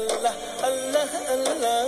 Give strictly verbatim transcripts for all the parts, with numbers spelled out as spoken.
الله الله الله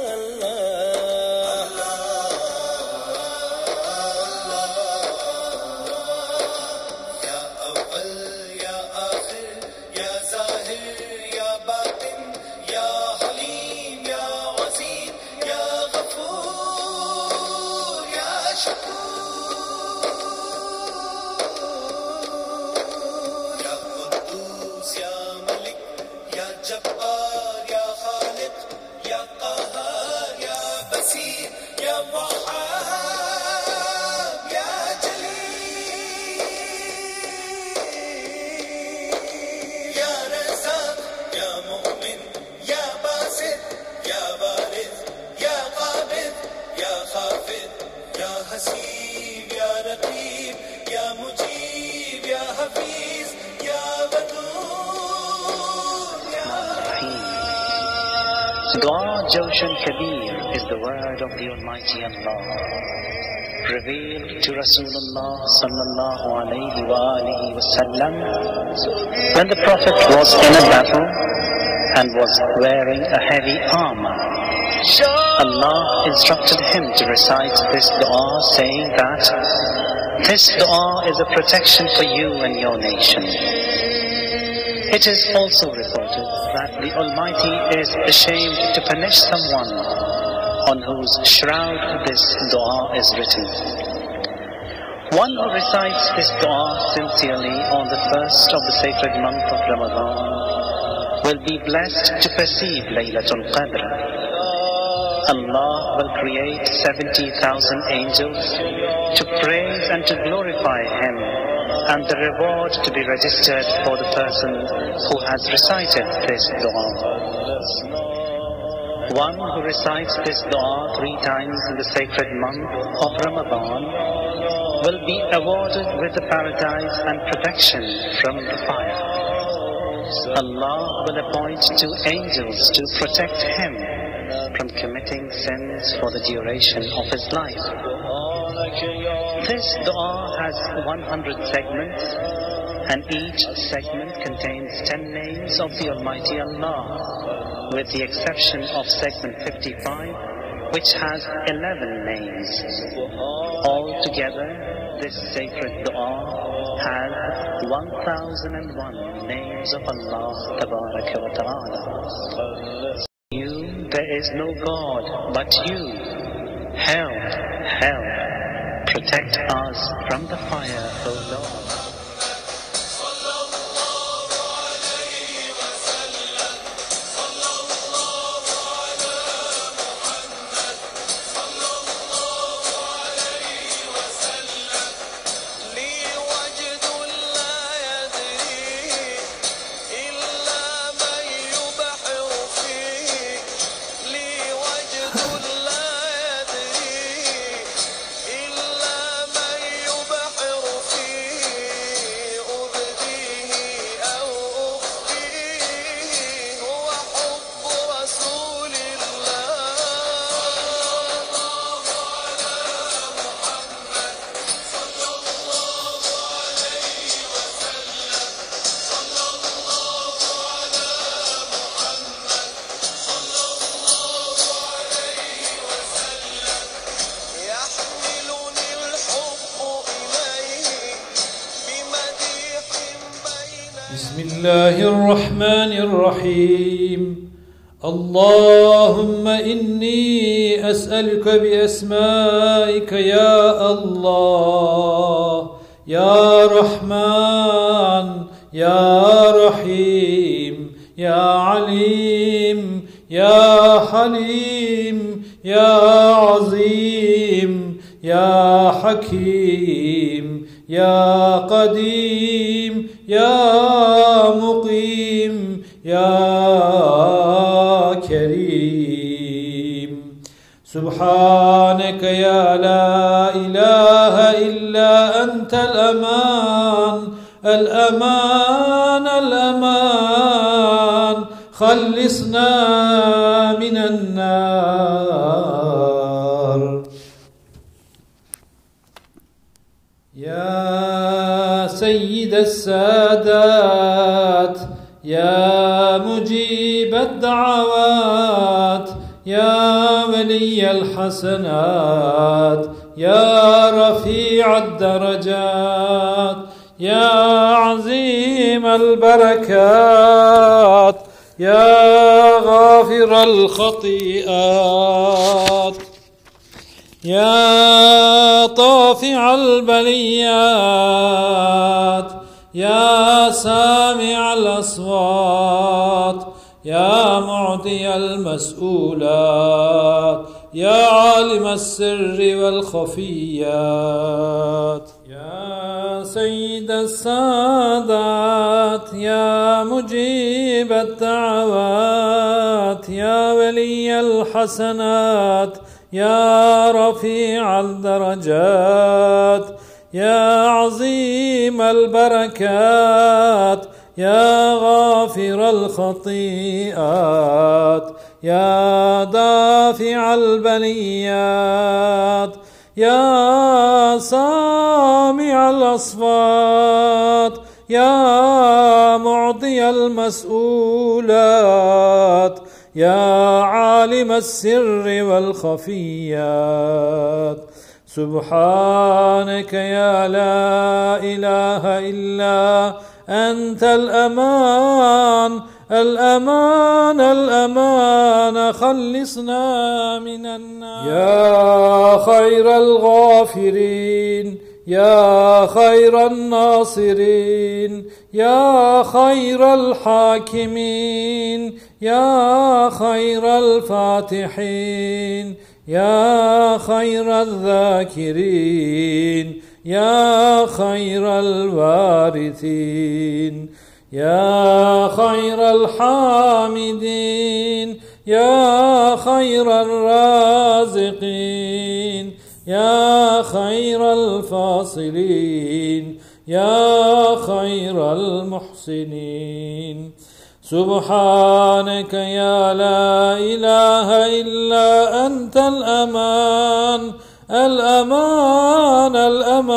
Dua Jawshan Kabir is the word of the Almighty Allah, revealed to Rasulullah sallallahu alayhi wa alihi wasallam when the Prophet was in a battle and was wearing a heavy armor. Allah instructed him to recite this dua, saying that this dua is a protection for you and your nation. It is also reported that the Almighty is ashamed to punish someone on whose shroud this dua is written. One who recites this dua sincerely on the first of the sacred month of Ramadan will be blessed to perceive Laylatul Qadr. Allah will create seventy thousand angels to praise and to glorify Him, and the reward to be registered for the person who has recited this dua. One who recites this dua three times in the sacred month of Ramadan will be awarded with the paradise and protection from the fire. Allah will appoint two angels to protect him from committing sins for the duration of his life. This dua has one hundred segments, and each segment contains ten names of the Almighty Allah, with the exception of segment fifty-five, which has eleven names. Altogether, this sacred dua has one thousand and one names of Allah Tabaraka wa Ta'ala. You, there is no God but you. Help, help, protect us from the fire, O Lord. بسم الله الرحمن الرحيم. اللهم إني أسألك بأسمائك يا الله، يا رحمن يا رحيم يا عليم يا حليم يا عظيم يا حكيم يا قديم يا مقيم يا كريم. سبحانك يا لا إله إلا أنت الأمان الأمان الأمان، خلصنا من النار. يا سيد السادات، يا مجيب الدعوات، الدعوات يا ولي الحسنات يا رفيع الدرجات يا عظيم البركات يا غافر الخطيئات يا طافع البليات يا سامع الأصوات يا معطي المسؤولات يا عالم السر والخفيات يا سيد السادات يا مجيب الدعوات يا ولي الحسنات يا رفيع الدرجات يا عظيم البركات يا غافر الخطيئات يا دافع البليات يا سامع الأصوات يا معطي المسؤولات يا عالم السر والخفيات سبحانك يا لا إله إلا أنت الأمان الأمان الأمان خلصنا من النار يا خير الغافرين يا خير الناصرين يا خير الحاكمين يا خير الفاتحين يا خير الذاكرين يا خير الوارثين يا خير الحامدين يا خير الرازقين يا خير الفاصلين يا خير المحسنين سبحانك يا لا إله إلا أنت الأمان الأمان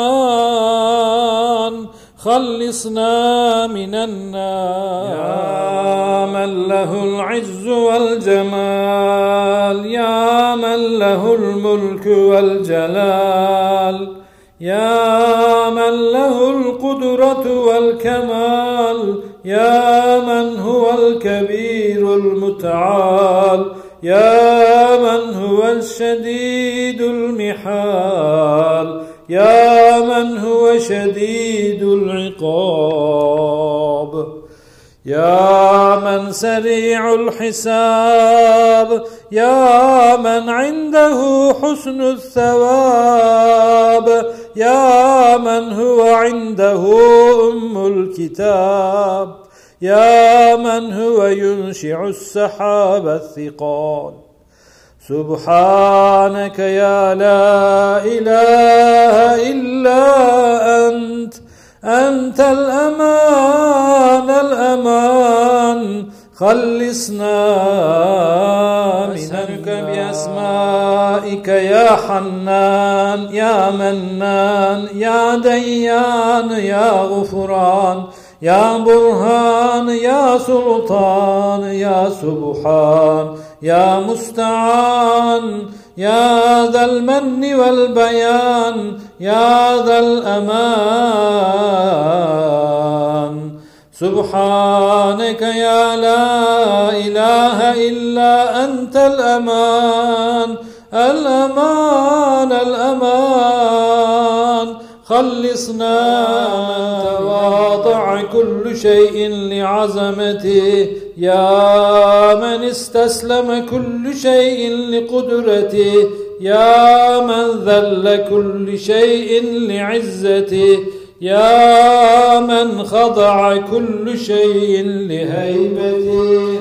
الأمان خلصنا من النار يا من له العز والجمال يا من له الملك والجلال يا من له القدرة والكمال يا من هو الكبير المتعال يا من هو الشديد المحال يا من هو شديد العقاب يا من سريع الحساب يا من عنده حسن الثواب يا من هو عنده أم الكتاب يا من هو ينشع السحاب الثقال سبحانك يا لا إله إلا أنت أنت الأمان الأمان خلصنا منك بأسمائك يا حنان يا منان يا ديان يا غفران يا برهان يا سلطان يا سبحان يا مستعان يا ذا المن والبيان يا ذا الأمان سبحانك يا لا إله إلا أنت الأمان الأمان الأمان خلصنا تواضع كل شيء لعظمته يا من استسلم كل شيء لقدرته يا من ذل كل شيء لعزته يا من خضع كل شيء لهيبته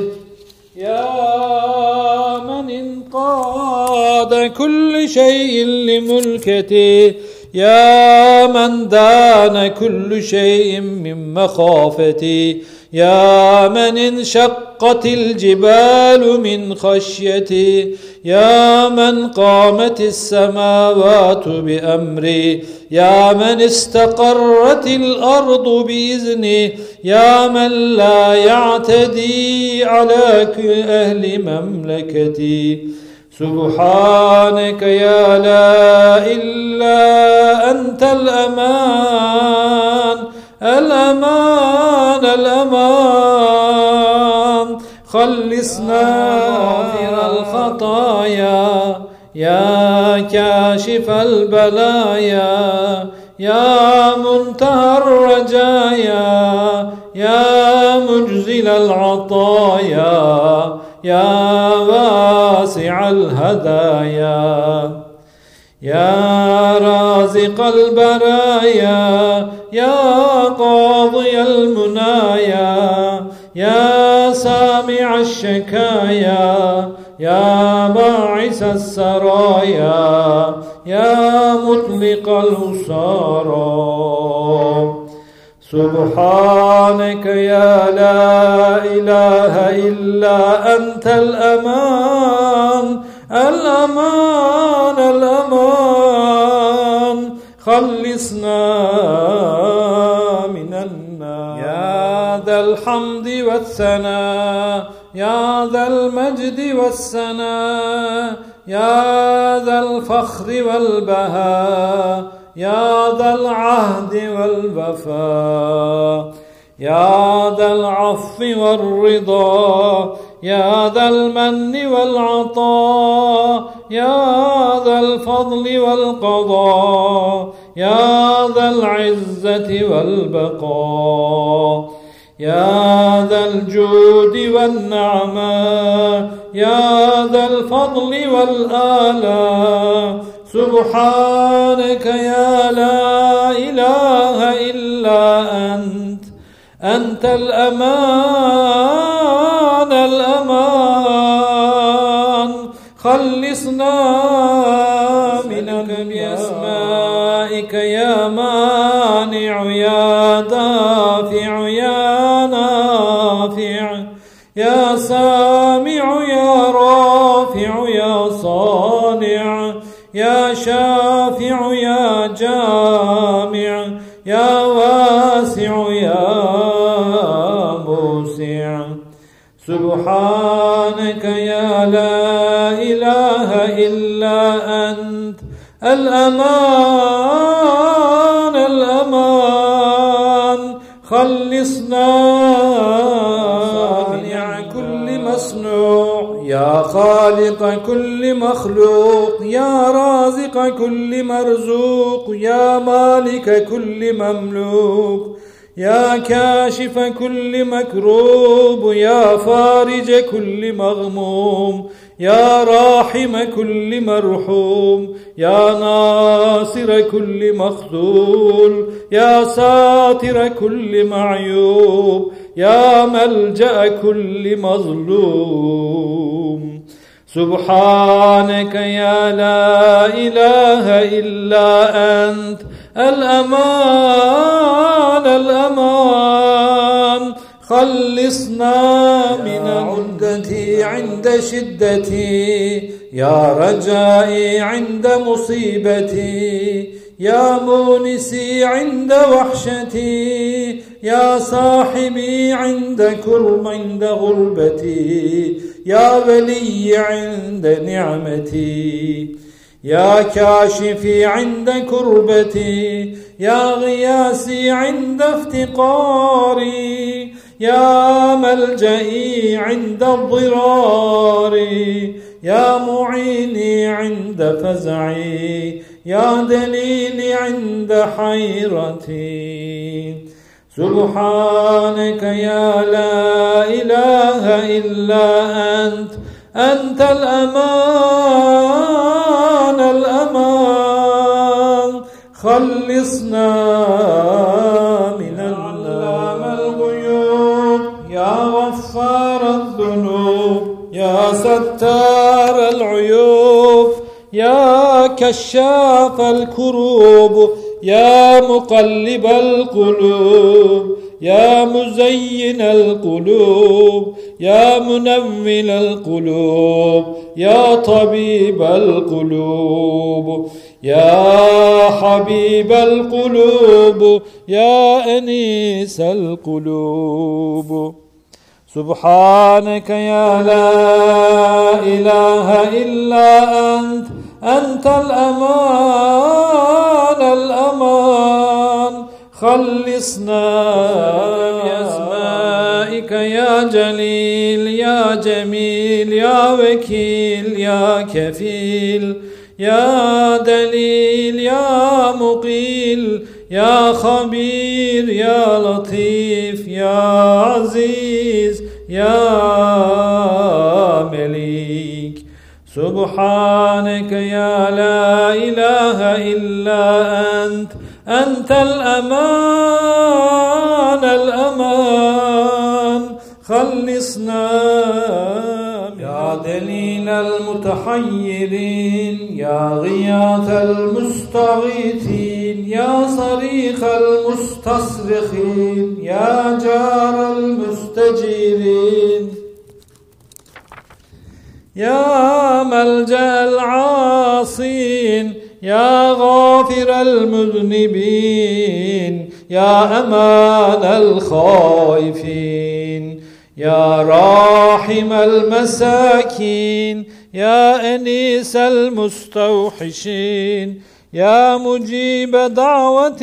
يا من انقاد كل شيء لملكته يا من دان كل شيء من مخافته يا من انشقت الجبال من خشيته يا من قامت السماوات بأمره يا من استقرت الأرض بإذنه يا من لا يعتدي على أهل مملكتي. سبحانك يا لا إلا أنت الأمان الأمان الأمان. خلصنا غافر الخطايا يا كاشف البلايا يا منتهى الرجايا يا مجزل العطايا يا واسع الهدايا يا رازق البرايا يا قاضي المنايا يا سامع الشكايا يا باعث السرايا يا مطلق الأسارى. سبحانك يا لا إله إلا أنت الأمان الأمان الأمان. خلصنا من النار يا ذا الحمد والثناء يا ذا المجد والسناء يا ذا الفخر والبهاء يا ذا العهد والوفاء يا ذا العفو والرضا يا ذا المن والعطاء يا ذا الفضل والقضاء يا ذا العزة والبقاء يا ذا الجود والنعماء يا ذا الفضل والآلاء. سبحانك يا لا إله إلا أنت أنت الأمان الأمان. خلصنا منك بأسمائك يا مانع يا دافع يا نافع يا سامع يا رافع يا صانع يا شافع يا جامع يا واسع يا موسع. سبحانك يا لا إله إلا أنت الأمان الأمان. خلصنا صانع كل مصنوع يا خالق كل مخلوق يا رازق كل مرزوق يا مالك كل مملوك يا كاشف كل مكروب يا فارج كل مغموم يا راحم كل مرحوم يا ناصر كل مخذول يا ساتر كل معيوب يا ملجأ كل مظلوم. سبحانك يا لا إله إلا أنت الأمان الأمان. خلصنا من عدتي عند شدتي يا رجائي عند مصيبتي يا مونسي عند وحشتي يا صاحبي عند كرب عند غربتي يا ولي عند نعمتي يا كاشفي عند كربتي يا غياسي عند افتقاري يا ملجئي عند الضرار يا معيني عند فزعي يا دليلي عند حيرتي. سبحانك يا لا إله إلا أنت أنت الأمان الأمان. خلصنا من علام الغيوب يا غفار الذنوب يا ستار العيوب يا كشاف الكروب يا مقلب القلوب يا مزين القلوب يا منور القلوب يا طبيب القلوب يا حبيب القلوب يا أنيس القلوب. سبحانك يا لا إله إلا أنت، أنت الأمان الأمان، خلصنا بأسمائك يا جليل يا جميل يا وكيل يا كفيل يا دليل يا مقيل يا خبير يا لطيف يا عزيز يا مليك. سبحانك يا لا إله إلا أنت، أنت الأمان الأمان، خلصنا يا دليل المتحيرين يا غياث المستغيثين يا صريخ المستصرخين يا جار المستجيرين يا ملجأ العاصين يا غافر المذنبين يا أمان الخائفين يا راحم المساكين يا أنيس المستوحشين يا مجيب دعوة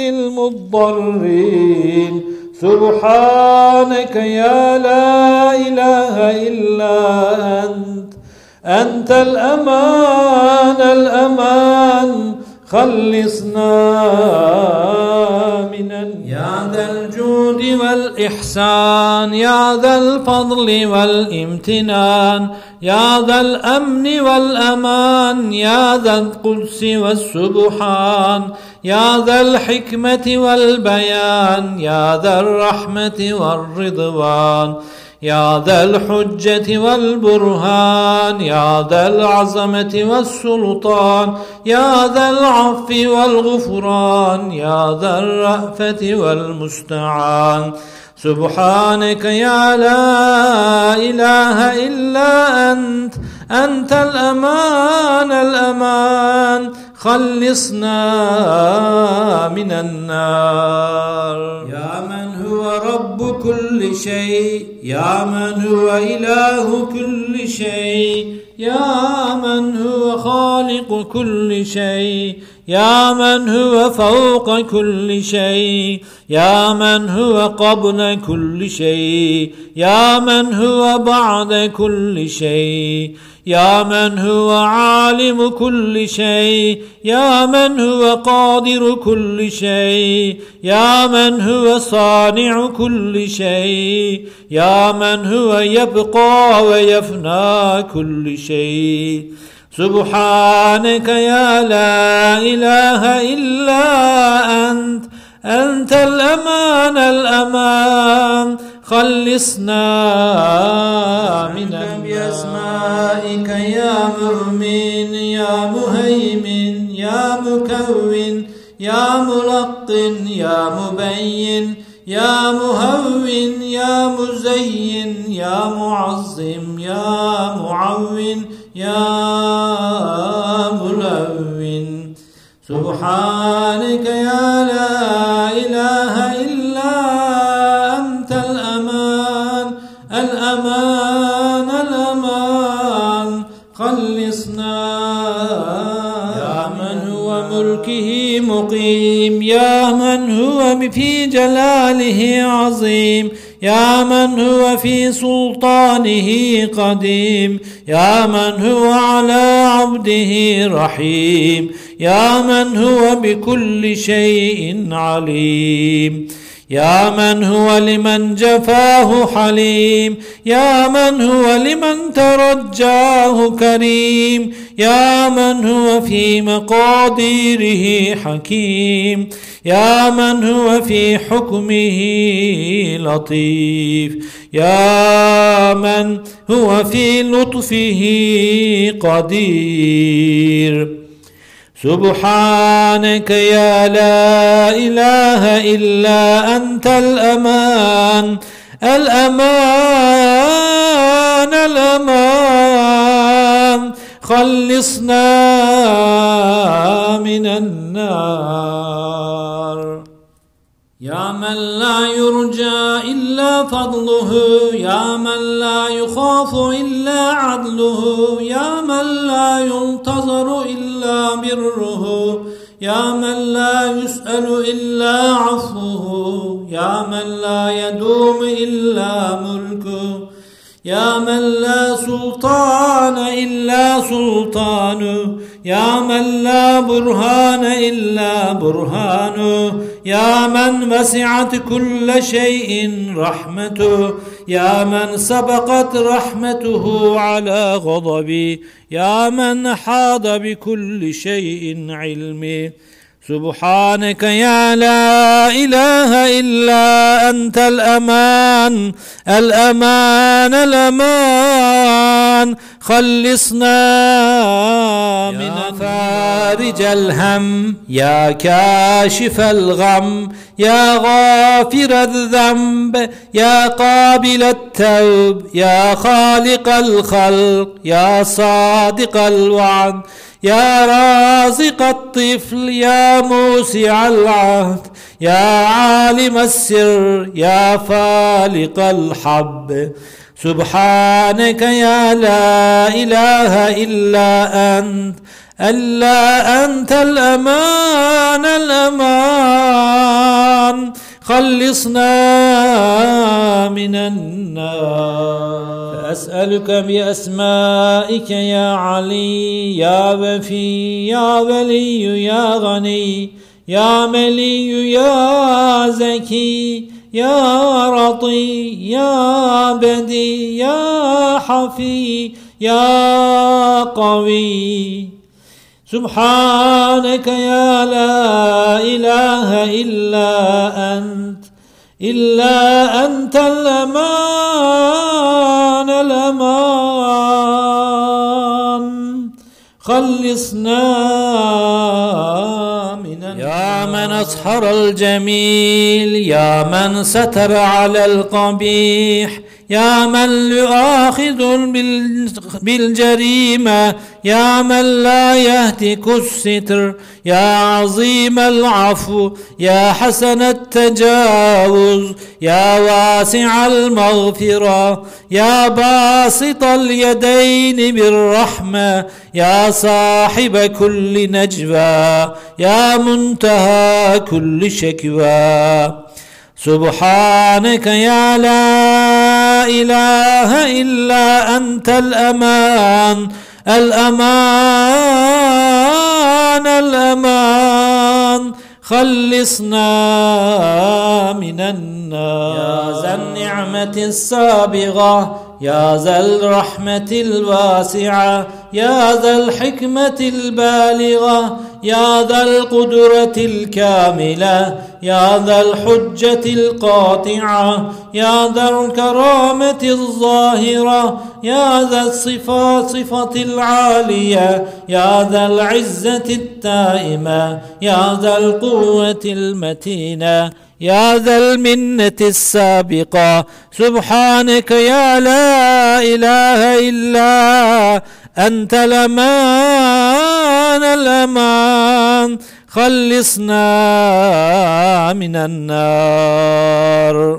المضطرين. سبحانك يا لا إله إلا أنت، أنت الأمان الأمان، خلصنا من النار. يا ذا الجود والإحسان يا ذا الفضل والامتنان يا ذا الأمن والأمان يا ذا القدس والسبحان يا ذا الحكمة والبيان يا ذا الرحمة والرضوان يا ذا الحجة والبرهان يا ذا العظمة والسلطان يا ذا العفو والغفران يا ذا الرأفة والمستعان. سبحانك يا لا إله إلا أنت، أنت الأمان الأمان، خلصنا من النار. يا من هو رب كل شيء يا من هو إله كل شيء يا من هو خالق كل شيء يا من هو فوق كل شيء يا من هو قبل كل شيء يا من هو بعد كل شيء يا من هو عالم كل شيء يا من هو قادر كل شيء يا من هو صانع كل شيء يا من هو يبقى ويفنى كل شيء. سبحانك يا لا إله إلا أنت، أنت الأمان الأمان، خلصنا من النار. بأسمائك يا مؤمن يا مهيمن يا مكون يا ملقن يا مبين يا مهون يا مزين يا معظم يا معون يا ملون. سبحانك يا لا إله إلا أنت الأمان الأمان الأمان، خلصنا. يا من هو ملكه مقيم يا من هو في جلاله عظيم يا من هو في سلطانه قديم يا من هو على عبده رحيم يا من هو بكل شيء عليم يا من هو لمن جفاه حليم يا من هو لمن ترجاه كريم يا من هو في مقاديره حكيم يا من هو في حكمه لطيف يا من هو في لطفه قدير. سبحانك يا لا إله إلا أنت الأمان الأمان الأمان خلصنا من النار. يا من لا يرجى إلا فضله، يا من لا يخاف إلا عدله، يا من لا ينتظر إلا بره، يا من لا يسأل إلا عفوه، يا من لا يدوم إلا ملكه، يا من لا سلطان إلا سلطانه، يا من لا برهان إلا برهانه، يا من وسعت كل شيء رحمته، يا من سبقت رحمته على غضبه، يا من حاط بكل شيء علمه. سبحانك يا لا إله إلا أنت الأمان الأمان الأمان خلصنا من فارج الهم، يا كاشف الغم، يا غافر الذنب، يا قابل التوب، يا خالق الخلق، يا صادق الوعد، يا رازق الطفل، يا موسع العهد، يا عالم السر، يا فالق الحب. سبحانك يا لا إله إلا أنت ألا أنت الأمان الأمان خلصنا من النار. فأسألك بأسمائك يا علي يا وفي يا ولي يا غني يا ملي يا زكي يا رضي يا بدي يا حفي يا قوي. سبحانك يا لا إله إلا أنت إلا أنت الأمان الأمان خلصنا من النار. يا من أسحر الجميل، يا من ستر على القبيح، يا من يؤاخذ بالجريمة، يا من لا يهتك الستر، يا عظيم العفو، يا حسن التجاوز، يا واسع المغفرة، يا باسط اليدين بالرحمة، يا صاحب كل نجوى، يا منتهى كل شكوى. سبحانك يا لا إله إلا أنت الأمان الأمان الأمان خلصنا من النار. يا ذا النعمة السابغة، يا ذا الرحمة الواسعة، يا ذا الحكمة البالغة، يا ذا القدرة الكاملة، يا ذا الحجة القاطعة، يا ذا الكرامة الظاهرة، يا ذا الصفات صفة العالية، يا ذا العزة التائمة، يا ذا القوة المتينة، يا ذا المنة السابقة. سبحانك يا لا إله إلا أنت الأمان الأمان خلصنا من النار.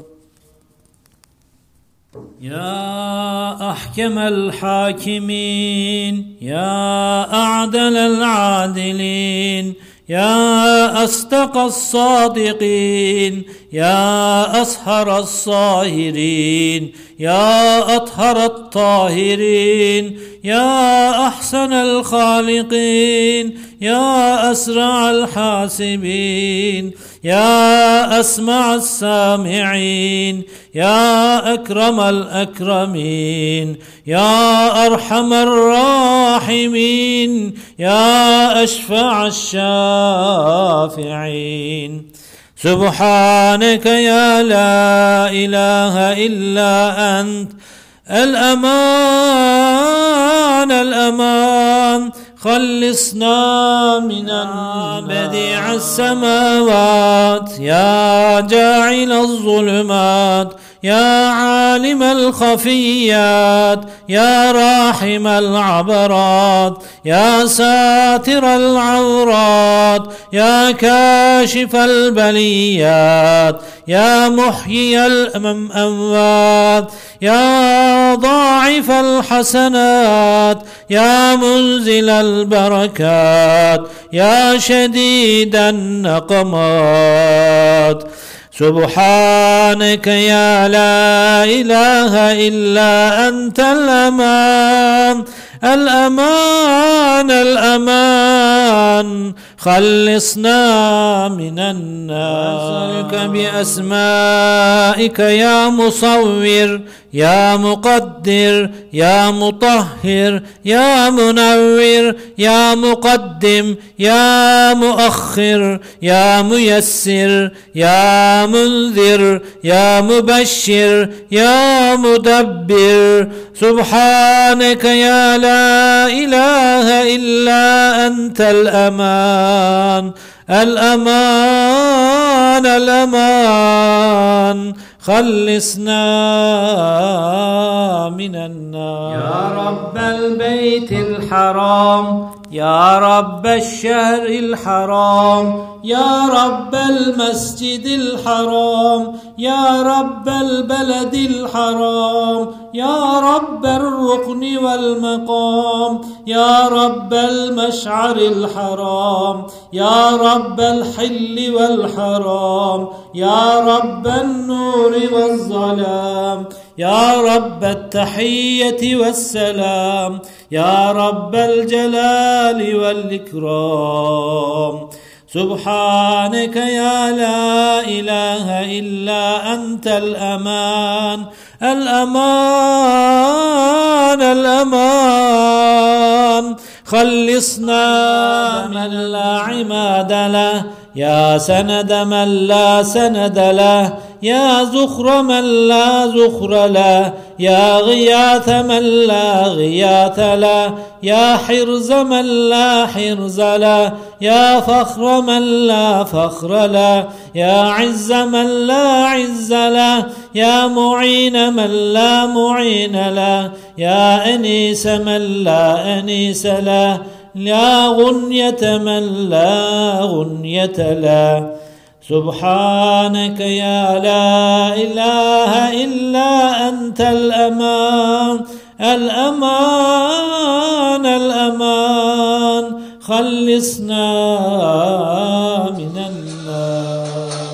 يا أحكم الحاكمين، يا أعدل العادلين، يا أصدق الصادقين، يا أصهر الصاهرين، يا أطهر الطاهرين، يا أحسن الخالقين، يا أسرع الحاسبين، يا أسمع السامعين، يا أكرم الأكرمين، يا أرحم الراحمين، يا أشفع الشافعين. سبحانك يا لا إله إلا أنت الأمان الأمان خلصنا من النار. بديع السماوات يا جاعل الظلمات يا عالم الخفيات يا راحم العبرات يا ساتر العورات يا كاشف البليات يا محيي الأموات يا ضاعف الحسنات يا منزل البركات يا شديد النقمات. سبحانك يا لا إله إلا أنت الأمان الأمان الأمان خلصنا من النار. أسألك بأسمائك يا مصور يا مقدر يا مطهر يا منور يا مقدم يا مؤخر يا ميسر يا منذر يا مبشر يا مدبر. سبحانك يا لا إله إلا أنت الأمان الأمان الأمان خلصنا من النار. يا رب البيت الحرام يا رب الشهر الحرام يا رب المسجد الحرام يا رب البلد الحرام يا رب الركن والمقام يا رب المشعر الحرام يا رب الحل والحرام يا رب النور والظلام يا رب التحية والسلام يا رب الجلال والإكرام. سبحانك يا لا إله إلا أنت الأمان الأمان الأمان خلصنا من لا عماد له يا سند من لا سند له يا زخر من لا زخر له يا غياث من لا غياث له يا حرز من لا حرز له يا فخر من لا فخر له يا عز من لا عز له يا معين من لا معين له يا أنيس من لا أنيس له يا غنية من لا غنية له. سبحانك يا لا إله إلا أنت الأمان الأمان الأمان خلصنا من النار.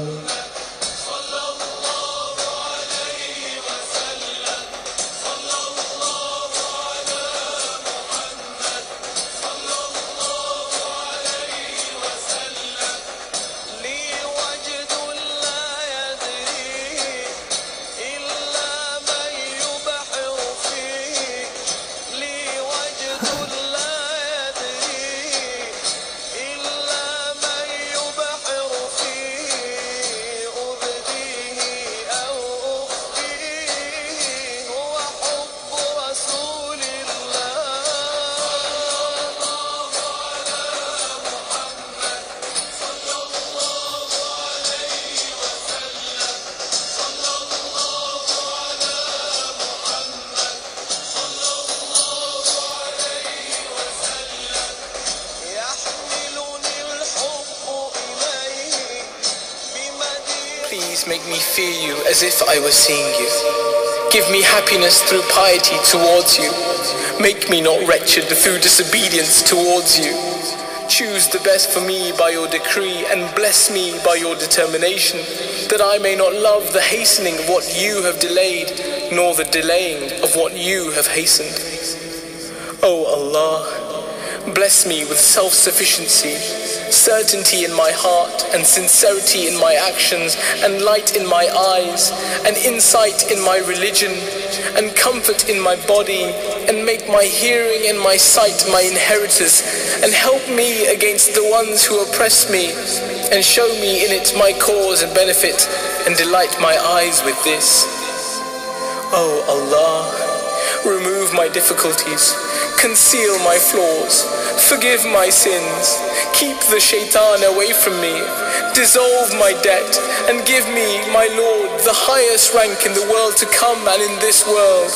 Please make me fear you as if I were seeing you. Give me happiness through piety towards you. Make me not wretched through disobedience towards you. Choose the best for me by your decree and bless me by your determination, that I may not love the hastening of what you have delayed, nor the delaying of what you have hastened. O Allah, bless me with self-sufficiency, certainty in my heart and sincerity in my actions, and light in my eyes, and insight in my religion, and comfort in my body, and make my hearing and my sight my inheritors, and help me against the ones who oppress me, and show me in it my cause and benefit, and delight my eyes with this. O Allah, remove my difficulties, Conceal my flaws, forgive my sins, keep the shaitan away from me, dissolve my debt, and give me, my Lord, the highest rank in the world to come and in this world.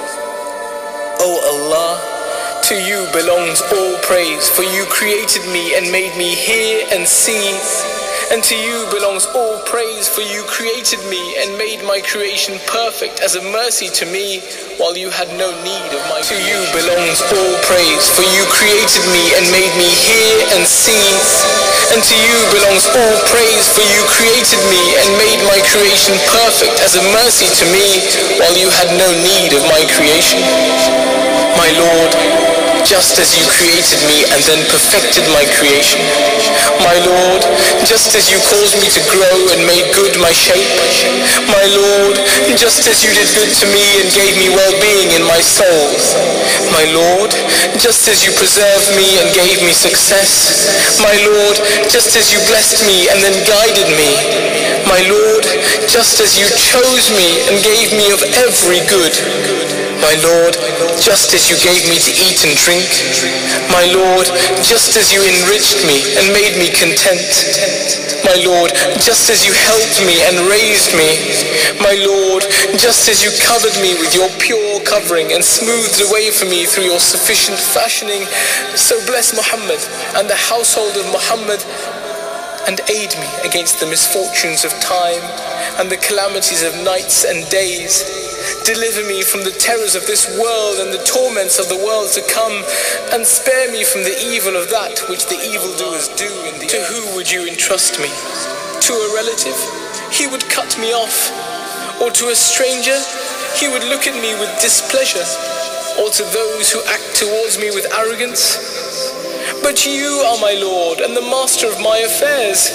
O Allah, to you belongs all praise, for you created me and made me hear and see. And to you belongs all praise, for you created me and made my creation perfect as a mercy to me, while you had no need of my creation. To you belongs all praise, for you created me and made me hear and see. And to you belongs all praise, for you created me and made my creation perfect as a mercy to me, while you had no need of my creation. My Lord, just as you created me and then perfected my creation. My Lord, just as you caused me to grow and made good my shape. My Lord, just as you did good to me and gave me well-being in my soul. My Lord, just as you preserved me and gave me success. My Lord, just as you blessed me and then guided me. My Lord, just as you chose me and gave me of every good. My Lord, just as you gave me to eat and drink. My Lord, just as you enriched me and made me content. My Lord, just as you helped me and raised me. My Lord, just as you covered me with your pure covering and smoothed away for me through your sufficient fashioning. So bless Muhammad and the household of Muhammad, and aid me against the misfortunes of time and the calamities of nights and days. Deliver me from the terrors of this world and the torments of the world to come, and spare me from the evil of that which the evildoers do in the... To who would you entrust me? To a relative? He would cut me off. Or to a stranger? He would look at me with displeasure. Or to those who act towards me with arrogance? But you are my Lord and the master of my affairs.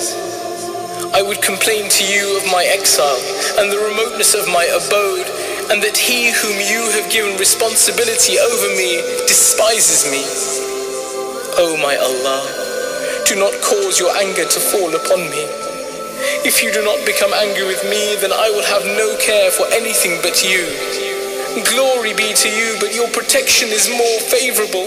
I would complain to you of my exile and the remoteness of my abode, and that he whom you have given responsibility over me despises me. O my Allah, do not cause your anger to fall upon me. If you do not become angry with me, then I will have no care for anything but you. Glory be to you, but your protection is more favorable.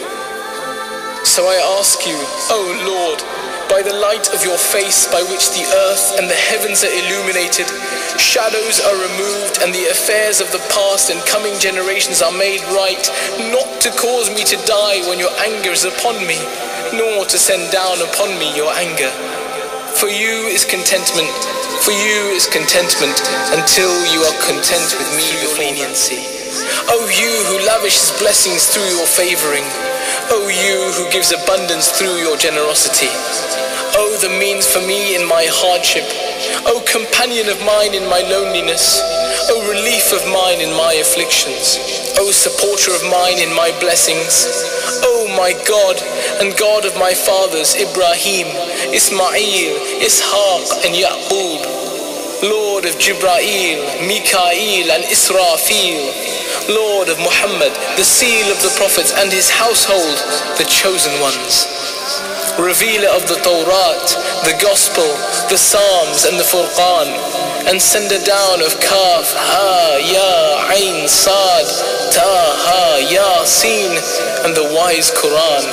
So I ask you, O Lord, by the light of your face by which the earth and the heavens are illuminated, shadows are removed, and the affairs of the past and coming generations are made right, not to cause me to die when your anger is upon me, nor to send down upon me your anger. For you is contentment, for you is contentment, until you are content with me with leniency. O you who lavishes blessings through your favoring, O you who gives abundance through your generosity. O the means for me in my hardship. O companion of mine in my loneliness. O relief of mine in my afflictions. O supporter of mine in my blessings. O my God and God of my fathers Ibrahim, Ismail, Ishaq and Yaqub. Lord of Jibrail, Mikael and Israfil. Lord of Muhammad, the seal of the prophets, and his household, the chosen ones. Revealer of the Torah, the Gospel, the Psalms and the Furqan, and sender down of Kaf, Ha, Ya, Ain, Sad, Ta, Ha, Ya, Sin, and the wise Quran.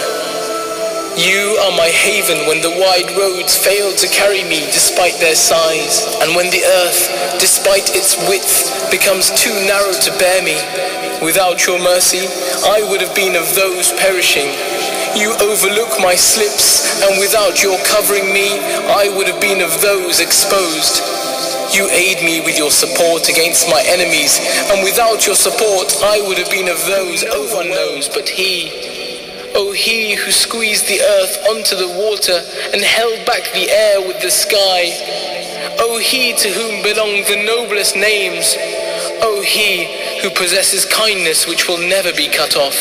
You are my haven when the wide roads fail to carry me despite their size, and when the earth, despite its width, becomes too narrow to bear me. Without your mercy, I would have been of those perishing. You overlook my slips, and without your covering me, I would have been of those exposed. You aid me with your support against my enemies, and without your support, I would have been of those no one knows but he. O he who squeezed the earth onto the water and held back the air with the sky. O he to whom belong the noblest names. O he who possesses kindness which will never be cut off.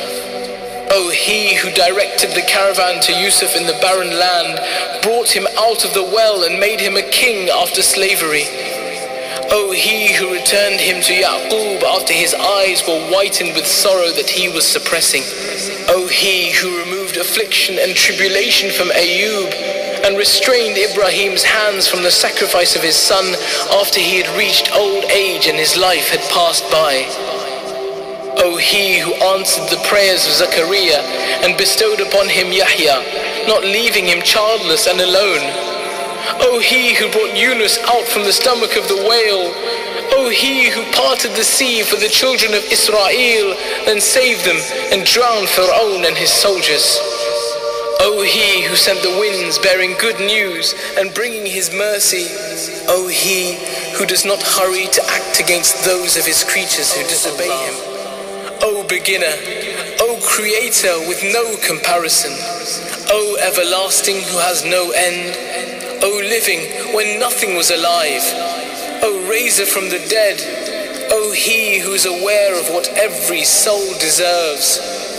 O he who directed the caravan to Yusuf in the barren land, brought him out of the well and made him a king after slavery. O he who returned him to Yaqub after his eyes were whitened with sorrow that he was suppressing. O he who removed affliction and tribulation from Ayub, and restrained Ibrahim's hands from the sacrifice of his son after he had reached old age and his life had passed by. O he who answered the prayers of Zakaria and bestowed upon him Yahya, not leaving him childless and alone. O He who brought Yunus out from the stomach of the whale, O He who parted the sea for the children of Israel, then saved them and drowned Pharaoh and his soldiers. O He who sent the winds bearing good news and bringing his mercy, O He who does not hurry to act against those of his creatures who disobey him. O beginner, O creator with no comparison, O everlasting who has no end, O living when nothing was alive, O raiser from the dead, O He who is aware of what every soul deserves,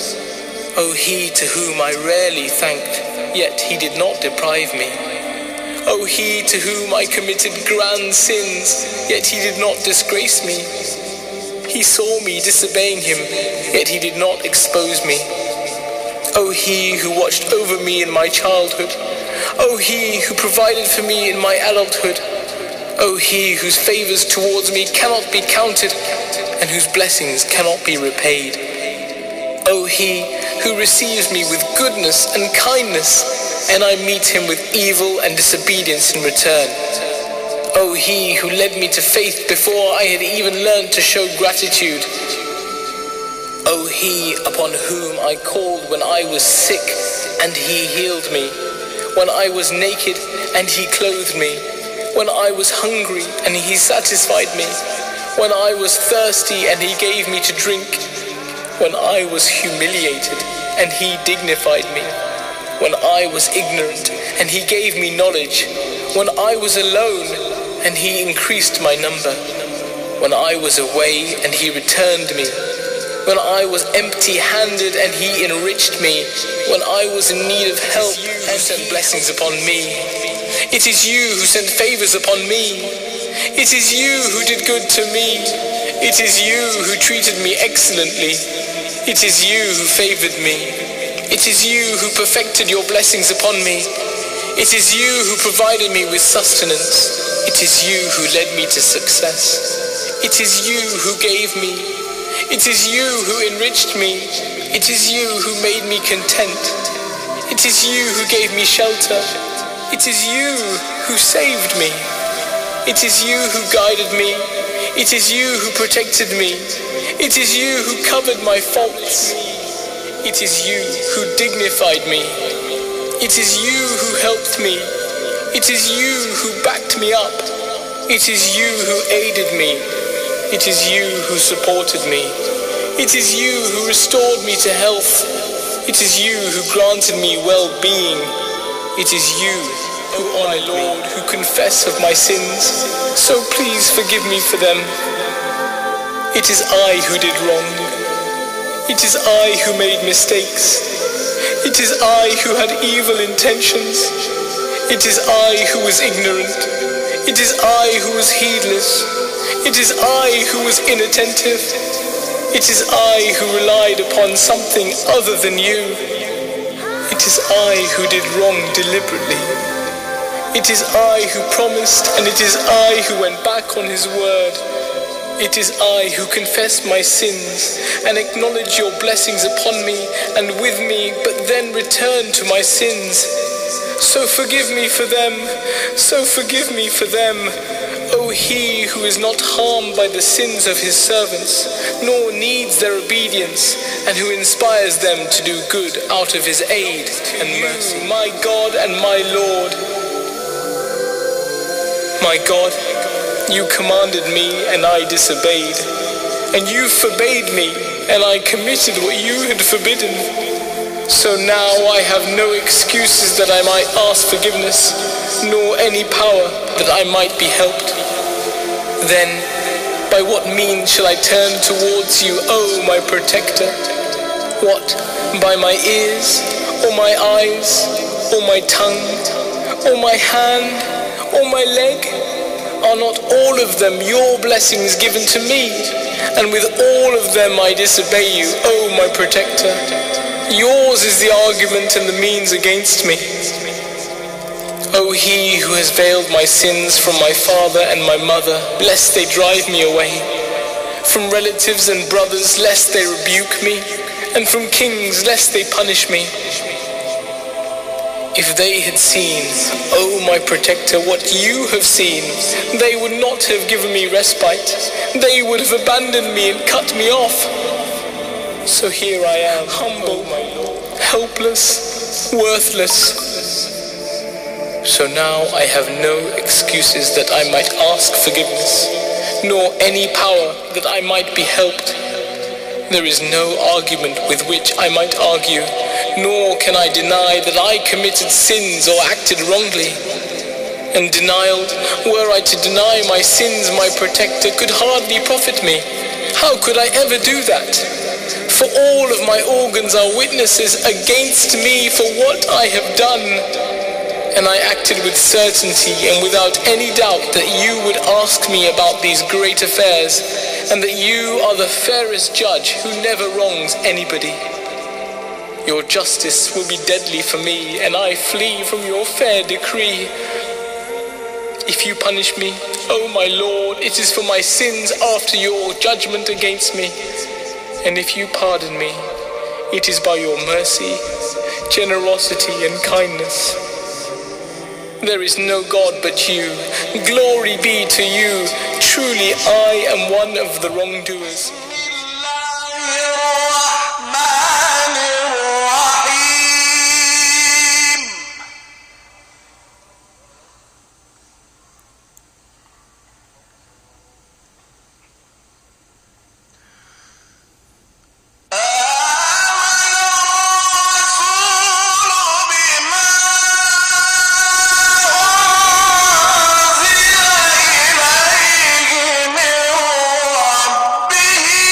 O He to whom I rarely thanked, yet He did not deprive me, O He to whom I committed grand sins, yet He did not disgrace me, He saw me disobeying Him, yet He did not expose me, O He who watched over me in my childhood, O He who provided for me in my adulthood, O He whose favors towards me cannot be counted and whose blessings cannot be repaid. O He who receives me with goodness and kindness, and I meet him with evil and disobedience in return. O He who led me to faith before I had even learned to show gratitude. O He upon whom I called when I was sick and He healed me, when I was naked and He clothed me, when I was hungry and He satisfied me, when I was thirsty and He gave me to drink, when I was humiliated and He dignified me, when I was ignorant and He gave me knowledge, when I was alone and He increased my number, when I was away and He returned me, when I was empty-handed and He enriched me, when I was in need of help and sent blessings upon me. It is You who sent favors upon me. It is You who did good to me. It is You who treated me excellently. It is You who favored me. It is You who perfected Your blessings upon me. It is You who provided me with sustenance. It is You who led me to success. It is You who gave me. It is You who enriched me. It is You who made me content. It is You who gave me shelter. It is You who saved me. It is You who guided me. It is You who protected me. It is You who covered my faults. It is You who dignified me. It is You who helped me. It is You who backed me up. It is You who aided me. It is You who supported me. It is You who restored me to health. It is You who granted me well-being. It is You, who are my Lord, who confess of my sins, so please forgive me for them. It is I who did wrong. It is I who made mistakes. It is I who had evil intentions. It is I who was ignorant. It is I who was heedless. It is I who was inattentive. It is I who relied upon something other than You. It is I who did wrong deliberately. It is I who promised, and it is I who went back on His word. It is I who confessed my sins and acknowledged Your blessings upon me and with me, but then returned to my sins. So forgive me for them, so forgive me for them. O He who is not harmed by the sins of His servants, nor needs their obedience, and who inspires them to do good out of His aid and mercy. My God and my Lord, my God, You commanded me and I disobeyed, and You forbade me and I committed what You had forbidden. So now I have no excuses that I might ask forgiveness, nor any power that I might be helped. Then, by what means shall I turn towards You, O my protector? What, by my ears, or my eyes, or my tongue, or my hand, or my leg? Are not all of them Your blessings given to me? And with all of them I disobey You, O my protector. Yours is the argument and the means against me. O He who has veiled my sins from my father and my mother, lest they drive me away, from relatives and brothers, lest they rebuke me, and from kings lest they punish me. If they had seen, O my protector, what you have seen, they would not have given me respite. They would have abandoned me and cut me off. So here I am, humble, helpless, worthless. So now I have no excuses that I might ask forgiveness, nor any power that I might be helped. There is no argument with which I might argue, nor can I deny that I committed sins or acted wrongly. And denial, were I to deny my sins, my protector could hardly profit me. How could I ever do that? For all of my organs are witnesses against me for what I have done. And I acted with certainty and without any doubt that you would ask me about these great affairs, and that you are the fairest judge who never wrongs anybody. Your justice will be deadly for me, and I flee from your fair decree. If you punish me, O my Lord, it is for my sins after your judgment against me. And if you pardon me, it is by your mercy, generosity, and kindness. There is no God but you. Glory be to you. Truly I am one of the wrongdoers. به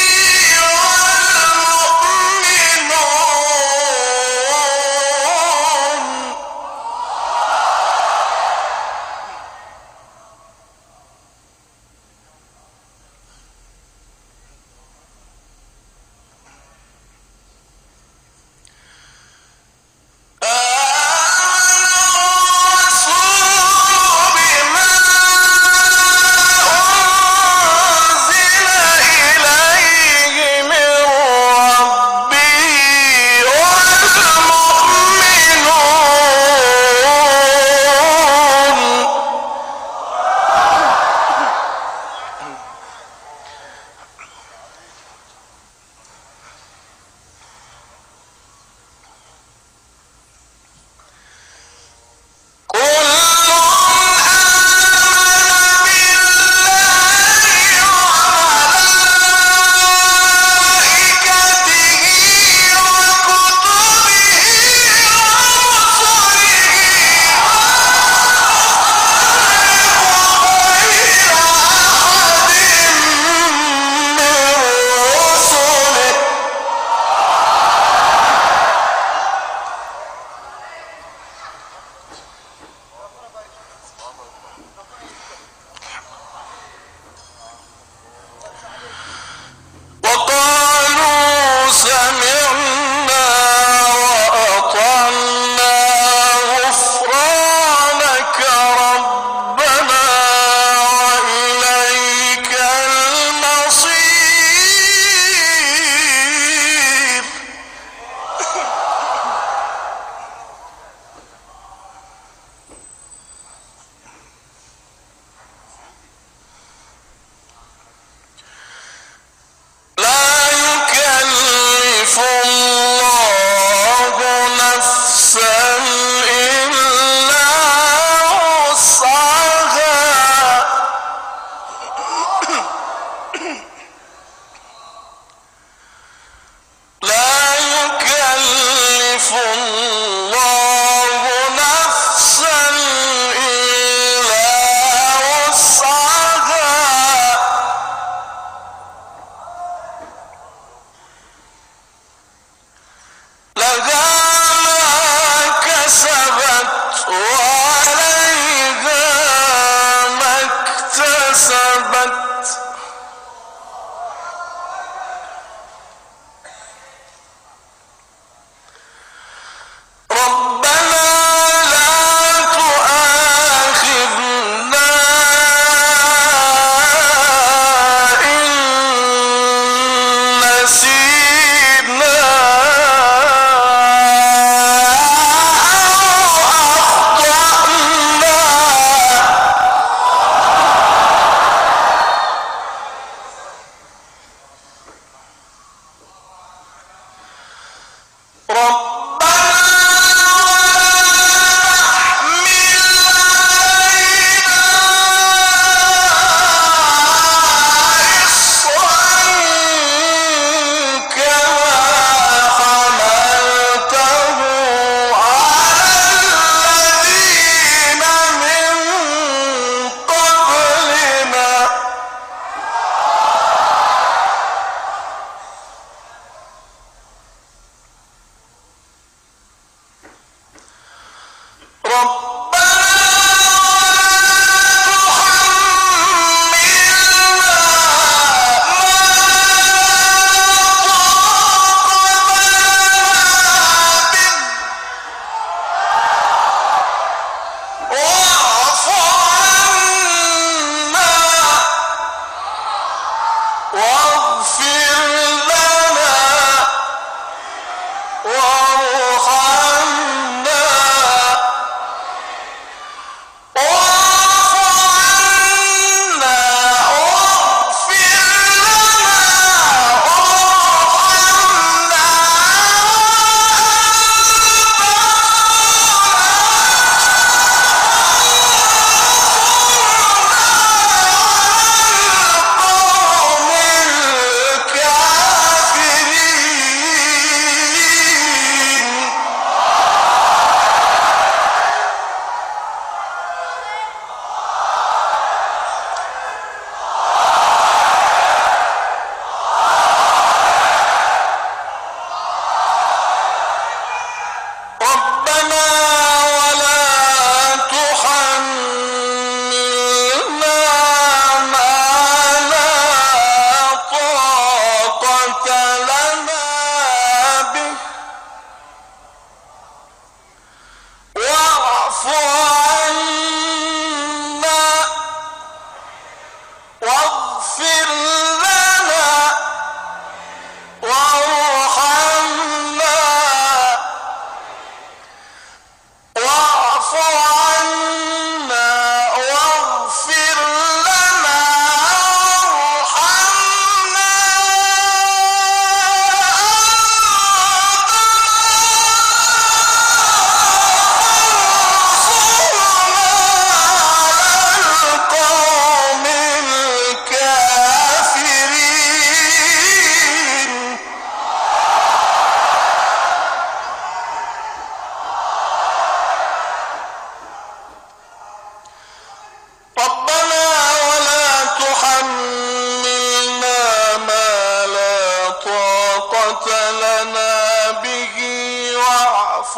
واعف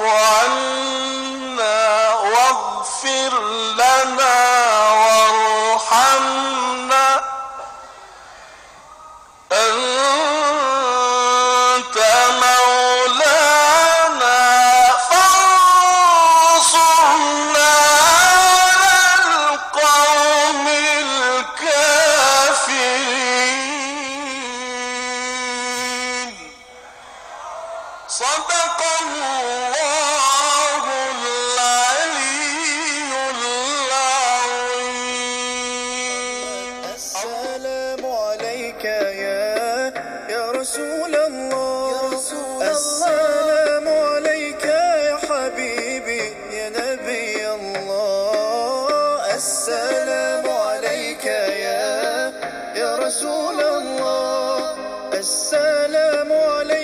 عنا واغفر لنا وارحمنا أنت مولانا فانصرنا على القوم الكافرين. صدق الله العلي العظيم. السلام عليك يا يا رسول الله، السلام عليك يا حبيبي يا نبي الله، السلام عليك يا يا رسول الله، السلام عليك